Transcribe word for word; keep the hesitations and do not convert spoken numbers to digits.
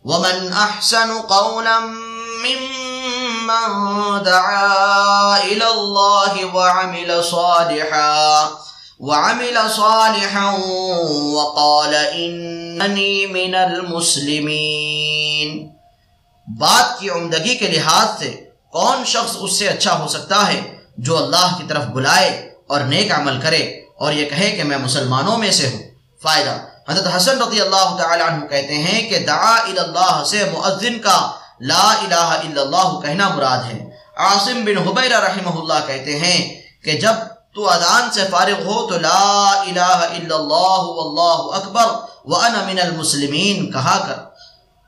वमन अहसनु क़ौलन मिम्मन दआ इलल्लाहि व अमिल सालिहन व अमिल सालिहन व क़ाल इन्ननी मिनल मुस्लिमीन। बात की उम्दगी के लिहाज से कौन शख्स उससे अच्छा हो सकता है जो अल्लाह की तरफ बुलाए और नेक अमल करे और ये कहे कि मैं मुसलमानों में से हूँ। फ़ायदा, हज़रत हसन रज़ी अल्लाह तआला अन्हु कहते हैं कि दआ इलल्लाह से मुअज्जिन का ला इलाहा इल्लल्लाह कहना मुराद है। आसिम बिन हुबैरा रहमहुल्लाह कहते हैं कि जब तू अज़ान से फारिग हो तो ला इलाहा इल्लल्लाह वल्लाहु अकबर व अना मिनल मुस्लिमीन कहा कर।